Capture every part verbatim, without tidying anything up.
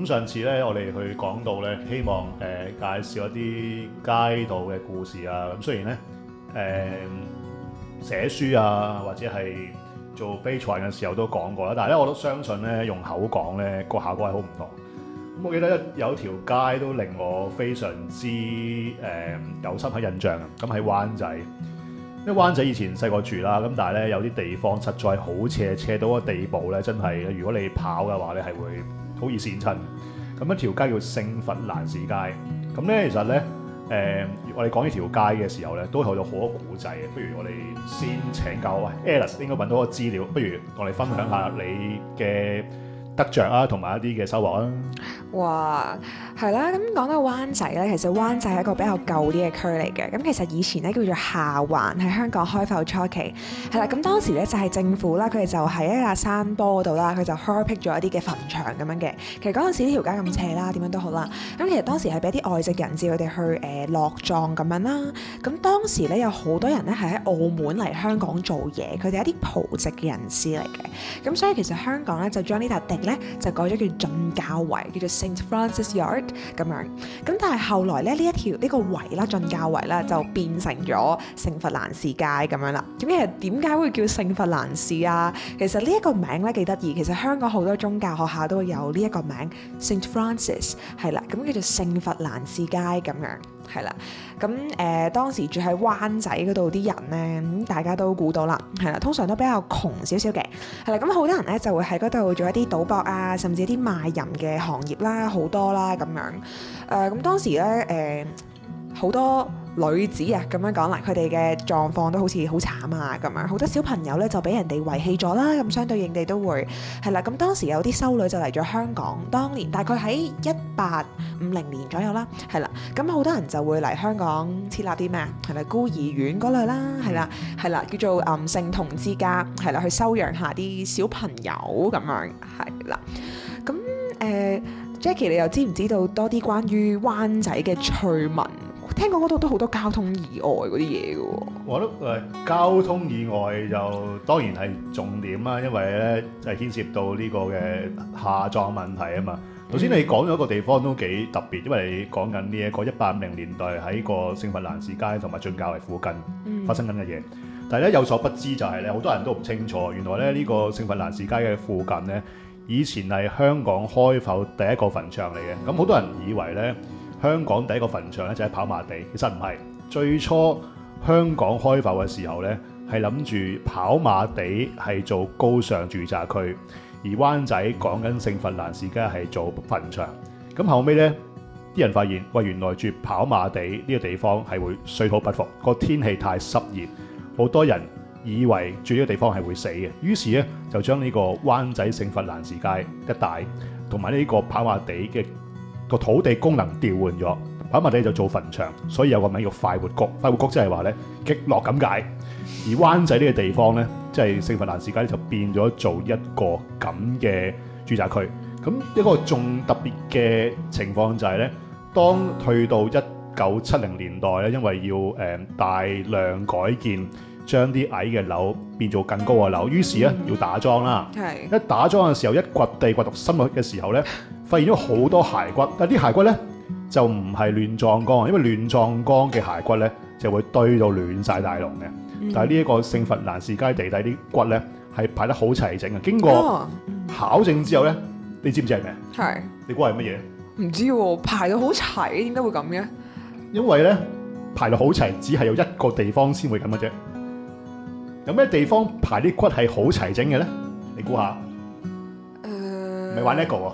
咁上次咧，我哋去講到咧，希望誒、呃、介紹一啲街道嘅故事啊。咁雖然咧誒、呃、寫書啊，或者係做比賽嘅時候都講過啦，但係咧我都相信咧用口講咧個效果係好唔同。咁我記得有條街都令我非常之誒、呃、有深刻印象啊。咁喺灣仔，因為灣仔以前細個住啦，咁但係咧有啲地方實在好斜，斜到個地步咧，真係如果你跑嘅話咧係會好易跣親。咁一條街叫聖佛蘭士街。咁咧其實咧誒、呃，我哋講呢條街嘅時候咧，都有好多古仔嘅。不如我哋先請教喂 Alice 應該揾到個資料，不如同我哋分享下你嘅得着啊，同埋一啲嘅收穫啊。 哇，係啦，咁講到灣仔咧，其實灣仔係一個比較舊啲嘅區嚟嘅。咁其實以前咧叫做下環，喺香港開埠初期，係啦。咁當時咧就係政府啦，佢哋就喺一個山坡嗰度啦，佢就開闢咗一啲嘅墳場咁樣嘅。其實嗰陣時呢條街咁斜啦，點樣都好啦。咁其實當時係俾啲外籍人士佢哋去誒、呃、落葬咁樣啦。咁當時咧有好多人咧係喺澳門嚟香港做嘢，佢哋係一啲葡籍嘅人士嚟嘅。咁所以其實香港咧就將呢笪地咧就改咗叫進教圍，叫做 Saint Francis Yard 咁樣。咁但係後來咧呢一條呢、呢個圍啦，進教圍啦就變成咗聖佛蘭士街咁樣啦。咁其實點解會叫聖佛蘭士啊？其實呢一個名咧幾得意。其實香港好多宗教學校都會有呢一個名 Saint Francis 係啦，咁叫做聖佛蘭士街咁樣係啦。咁誒、呃、當時住喺灣仔嗰度啲人咧，咁大家都估到啦，係啦，通常都比較窮少少嘅，係啦。咁好多人咧就會喺嗰度做一啲賭博啊，甚至一啲賣淫嘅行業啦，好多啦咁樣。誒、呃、咁當時咧誒好多女子啊咁樣講啦，佢哋嘅狀況都好似好慘啊咁樣，好多小朋友咧就俾人哋遺棄咗啦，咁相對應地都會係啦。咁當時有啲修女就嚟咗香港，當年大概喺一八五零年左右啦，係啦。咁好多人就會嚟香港設立啲咩啊？係啦，孤兒院嗰類啦，係啦，係啦，叫做誒聖童之家，係啦，去收養下啲小朋友咁樣，係啦。咁誒、呃、Jackie 你又知唔知道多啲關於灣仔嘅趣聞？聽講嗰度都好多交通意外嗰啲嘢嘅喎。 我覺得誒交通意外就當然係重點啦，因為咧就係牽涉到呢個嘅下葬問題啊嘛。頭先你講咗一個地方都幾特別，因為你講緊呢一個一八五零年代喺個聖佛蘭士街同埋進教圍附近發生緊嘅嘢。嗯、但係咧有所不知就係咧，好多人都唔清楚，原來咧呢個聖佛蘭士街嘅附近咧，以前係香港開埠第一個墳場嚟嘅。咁好多人以為咧，香港第一個墳場咧就係跑馬地，其實唔係。最初香港開埠嘅時候咧，係諗住跑馬地係做高尚住宅區，而灣仔講緊聖佛蘭士街係做墳場。咁後尾咧，啲人發現喂，原來住跑馬地呢個地方係會水土不服，個天氣太濕熱，好多人以為住呢個地方係會死嘅，於是咧就將呢個灣仔聖佛蘭士街一帶同埋呢個跑馬地嘅個土地功能調換咗，跑馬地就做墳場，所以有個名叫快活谷。快活谷即係話咧極樂咁解，而灣仔呢個地方咧，即係聖佛蘭士街就變咗做一個咁嘅住宅區。咁一個仲特別嘅情況就係咧，當去到一九七零年代咧，因為要誒、呃、大量改建，將啲矮嘅樓變做更高嘅樓，於是咧要打樁啦。 係一打樁嘅時候，一掘地掘到深入嘅時候咧，發現咗好多骸骨，但啲骸骨咧就唔係亂葬崗，因為亂葬崗嘅骸骨咧就會堆到亂晒大龍嘅。嗯、但係呢一個聖佛蘭士街地底啲骨咧係排得好齊整嘅。經過考證之後咧，你知唔知係咩？ 係你估係乜嘢？ 唔知喎，排到好齊，點解會咁嘅？ 因為咧排到好齊，只係有一個地方先會咁嘅啫。有咩地方排啲骨係好齊整嘅咧？你估下？誒、呃，咪玩呢一個喎？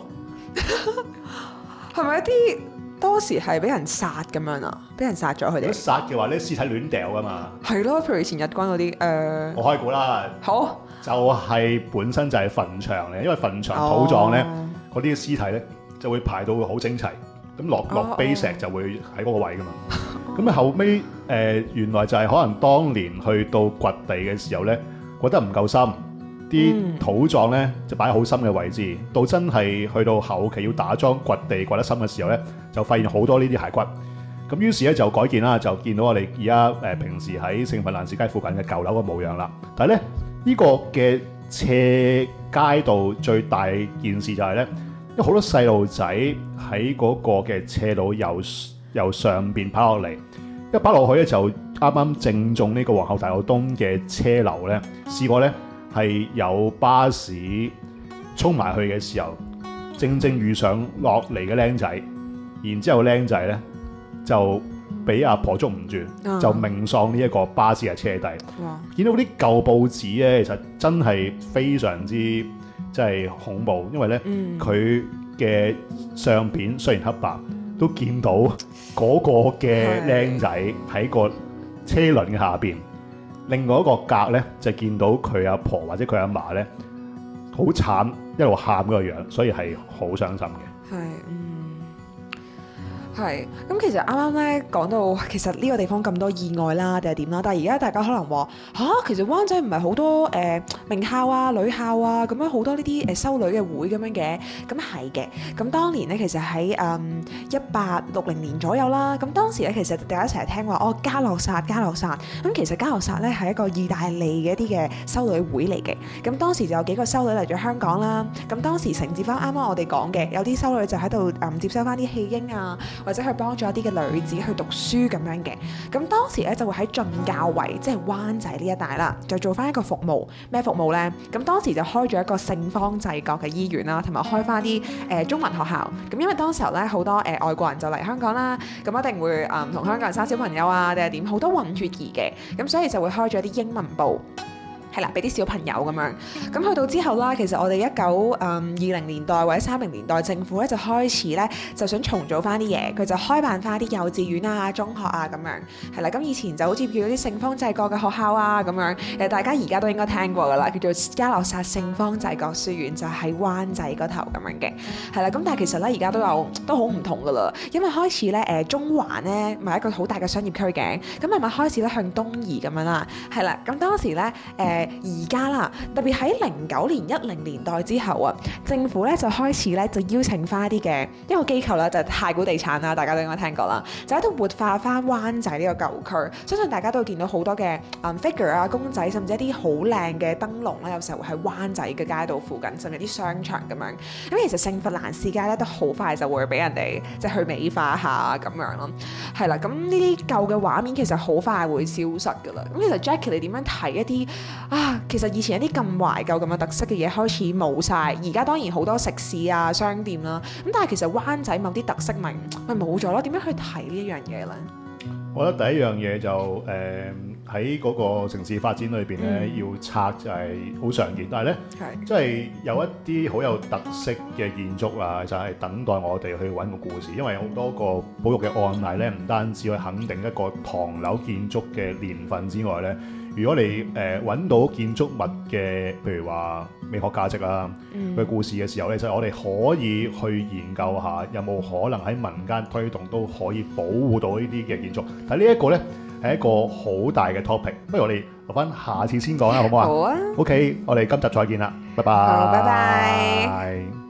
係咪一啲當時係俾人殺咁樣啊？俾人殺咗佢哋？如果殺嘅話咧，屍體亂掉噶嘛？ 係咯，譬如以前日軍嗰啲誒。 我開估啦。好。就係本身就係墳場嚟，因為墳場土葬咧，嗰啲屍體咧就會排到好整齊，咁落落碑石就會喺嗰個位噶嘛。咁啊後尾誒、呃、原來就係可能當年去到掘地嘅時候咧，掘得唔夠深，啲土葬咧就擺喺好深嘅位置，到真係去到後期要打樁掘地掘得深嘅時候咧，就發現好多呢啲骸骨。咁於是咧就改建啦，就見到我哋而家誒平時喺聖佛蘭士街附近嘅舊樓嘅模樣啦。但係咧呢、呢個嘅斜街道最大件事就係咧， 因為好多細路仔喺嗰個嘅斜路由由上邊跑落嚟，一跑落去咧就啱啱正中呢個皇后大道東嘅車流咧，試過咧係有巴士衝埋去嘅時候，正正遇上落嚟嘅僆仔，然之後僆仔咧就俾阿婆捉唔住， 嗯、 就命喪呢一個巴士嘅車底。 哇！ 見到啲舊報紙咧，其實真係非常之真係恐怖，因為咧佢嘅相片雖然黑白，都見到嗰個嘅僆仔喺個車輪嘅下邊。另外一個格咧就見到佢阿婆或者佢阿嫲咧好慘，一路喊嗰個樣，所以係好傷心嘅。 係，嗯。係，咁其實啱啱咧講到，其實呢個地方咁多意外啦，定係點啦？但係而家大家可能話吓，其實灣仔唔係好多誒、呃、名校啊、女校啊，咁樣好多呢啲誒修女嘅會咁樣嘅，咁係嘅。咁當年咧，其實喺誒一八六零年左右啦，咁當時咧其實大家成日聽話哦嘉諾撒、嘉諾撒，咁其實嘉諾撒咧係一個意大利嘅一啲嘅修女會嚟嘅。咁當時就有幾個修女嚟咗香港啦，咁當時承接翻啱啱我哋講嘅，有啲修女就喺度誒接收翻啲棄嬰啊。或者去幫助一啲嘅女子去讀書咁樣嘅，咁當時咧就會喺進教圍，即係灣仔呢一帶啦，就做翻一個服務。咩服務呢？咁當時就開咗一個聖方濟各嘅醫院啦，同埋開翻啲誒中文學校。咁因為當時候咧好多誒、呃、外國人就嚟香港啦，咁一定會誒同、呃、香港人生小朋友啊，定係點？好多混血兒嘅，咁所以就會開咗啲英文部。係啦，俾啲小朋友咁樣，咁去到之後啦，其實我哋一九誒二零年代或者三零年代，政府咧就開始咧就想重組翻啲嘢，佢就開辦翻啲幼稚園啊、中學啊咁樣，係啦，咁以前就好似叫啲聖方濟各嘅學校啊咁樣，誒大家而家都應該聽過噶啦，叫做嘉諾撒聖方濟各書院，就喺灣仔嗰頭咁樣嘅，係啦，咁但係其實咧而家都有都好唔同噶啦，因為開始咧誒中環咧咪一個好大嘅商業區嘅，咁慢慢開始咧向東移咁樣啦，係啦，咁當時咧誒。呃而家啦，特別喺零九年、一零年代之後啊，政府咧就開始咧就邀請翻一啲嘅一個機構啦，就係太古地產啦，大家都應該聽過啦，就喺度活化翻灣仔呢個舊區。相信大家都會見到好多嘅嗯 figure 啊、公仔，甚至一啲好靚嘅燈籠啦，有時候會喺灣仔嘅街道附近，甚至啲商場咁樣。咁其實聖佛蘭士街咧都好快就會俾人哋即係去美化下咁樣咯。係啦，咁呢啲舊嘅畫面其實好快會消失㗎啦。咁其實 Jackie 你點樣睇一啲啊？其實以前一啲咁懷舊咁嘅特色嘅嘢開始冇晒，而家當然好多食肆啊、商店啦。咁但係其實灣仔某啲特色咪咪冇咗咯？點樣去睇呢一樣嘢咧？ 我覺得第一樣嘢就誒喺嗰個城市發展裏邊咧，嗯、要拆就係好常見，但係咧，即係有一啲好有特色嘅建築啊，就係、是、等待我哋去揾個故事。因為好多個保育嘅案例咧，唔單止去肯定一個唐樓建築嘅年份之外咧。如果你誒揾、呃、到建築物嘅，譬如話美學價值啊，佢、嗯、故事嘅時候咧，就係、我哋可以去研究下有冇可能喺民間推動都可以保護到呢啲嘅建築。但係呢一個咧係一個好大嘅 topic，不如我哋留翻下次先講啦，好唔好啊？好啊。OK，我哋今集再見啦，拜拜。 好，拜拜。